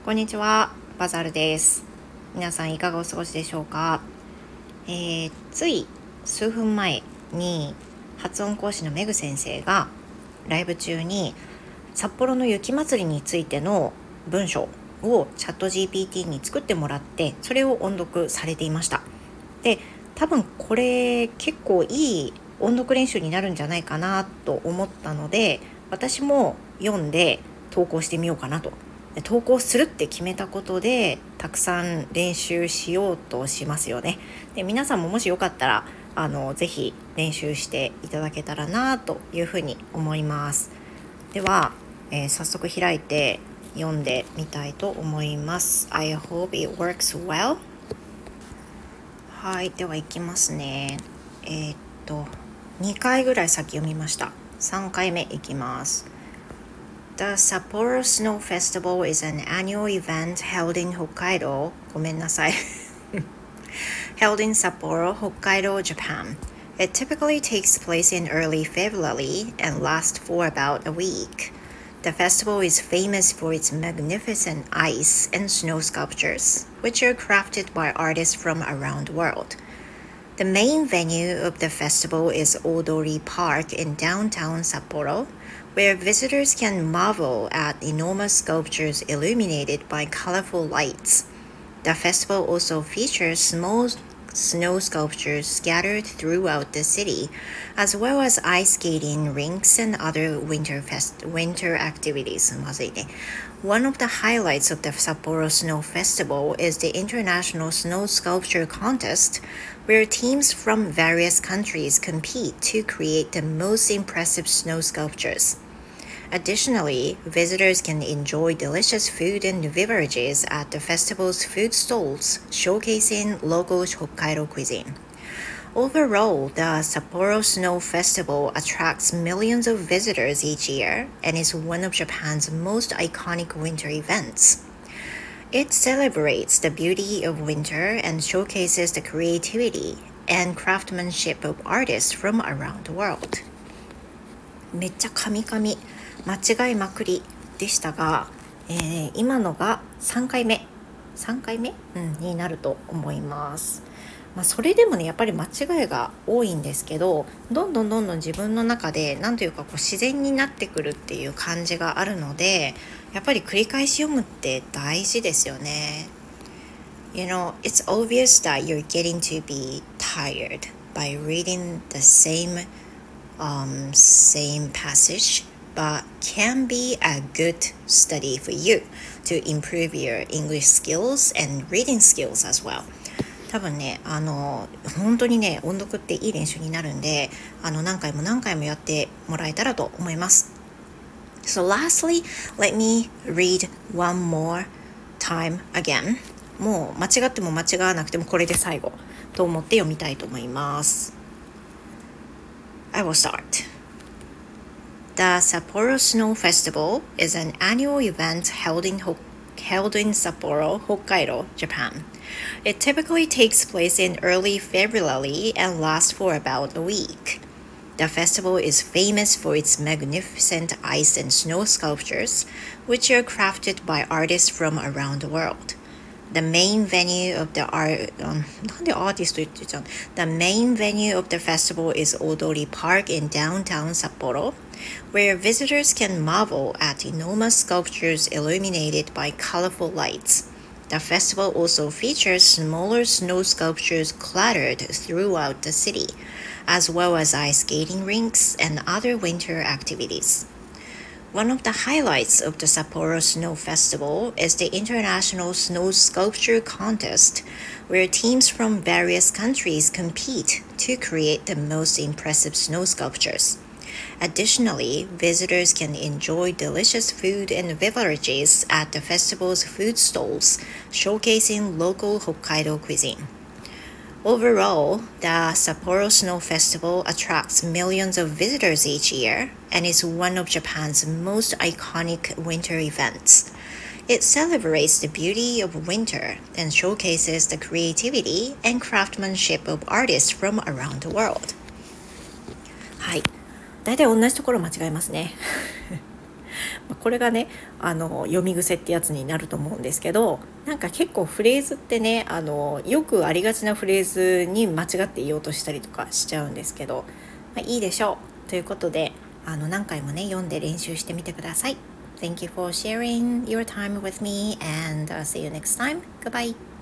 こんにちは、バザールです。皆さんいかがお過ごしでしょうか。つい数分前に発音講師のメグ先生がライブ中に札幌の雪まつりについての文章をチャット GPT に作ってもらって、それを音読されていました。で、多分これ結構いい音読練習になるんじゃないかなと思ったので、私も読んで投稿してみようかなと。投稿するって決めたことでたくさん練習しようとしますよね。で、皆さんももしよかったらぜひ練習していただけたらなというふうに思います。では、早速開いて読んでみたいと思います。 I hope it works well。 はい、ではいきますね。2回ぐらい先読みました。3回目いきます。The Sapporo Snow Festival is an annual event held in Hokkaido. ごめんなさい。held in Sapporo, Hokkaido, Japan. It typically takes place in early February and lasts for about a week. The festival is famous for its magnificent ice and snow sculptures, which are crafted by artists from around the world. The main venue of the festival is Odori Park in downtown Sapporo, where visitors can marvel at enormous sculptures illuminated by colorful lights. The festival also features small snow sculptures scattered throughout the city, as well as ice skating rinks and other winter activities. One of the highlights of the Sapporo Snow Festival is the International Snow Sculpture Contest, where teams from various countries compete to create the most impressive snow sculptures. Additionally, visitors can enjoy delicious food and beverages at the festival's food stalls, showcasing local Hokkaido cuisine. Overall, the Sapporo Snow Festival attracts millions of visitors each year and is one of Japan's most iconic winter events. It celebrates the beauty of winter and showcases the creativity and craftsmanship of artists from around the world. めっちゃ噛み噛み間違いまくりでしたが、今のが3回目になると思います。それでもね、やっぱり間違いが多いんですけど、どんどん自分の中でなんというか自然になってくるっていう感じがあるので、やっぱり繰り返し読むって大事ですよね。You know, it's obvious that you're getting to be tired by reading the same passage, but can be a good study for you to improve your English skills and reading skills as well. 多分ね、本当にね、音読っていい練習になるんで、何回もやってもらえたらと思います。So lastly, let me read one more time again. もう間違っても間違わなくてもこれで最後と思って読みたいと思います。I will start. The Sapporo Snow Festival is an annual event held in Sapporo, Hokkaido, Japan. It typically takes place in early February and lasts for about a week. The festival is famous for its magnificent ice and snow sculptures, which are crafted by artists from around the world. The main venue of the festival is Odori Park in downtown Sapporo, where visitors can marvel at enormous sculptures illuminated by colorful lights. The festival also features smaller snow sculptures cluttered throughout the city, as well as ice skating rinks and other winter activities. One of the highlights of the Sapporo Snow Festival is the International Snow Sculpture Contest, where teams from various countries compete to create the most impressive snow sculptures. Additionally, visitors can enjoy delicious food and beverages at the festival's food stalls, showcasing local Hokkaido cuisine. Overall, the Sapporo Snow Festival attracts millions of visitors each year and is one of Japan's most iconic winter events. It celebrates the beauty of winter and showcases the creativity and craftsmanship of artists from around the world. はい。だいたい同じところ間違えますね。 これがね読み癖ってやつになると思うんですけど、なんか結構フレーズってねよくありがちなフレーズに間違って言おうとしたりとかしちゃうんですけど、いいでしょうということで何回もね読んで練習してみてください。Thank you for sharing your time with me and see you next time. Goodbye.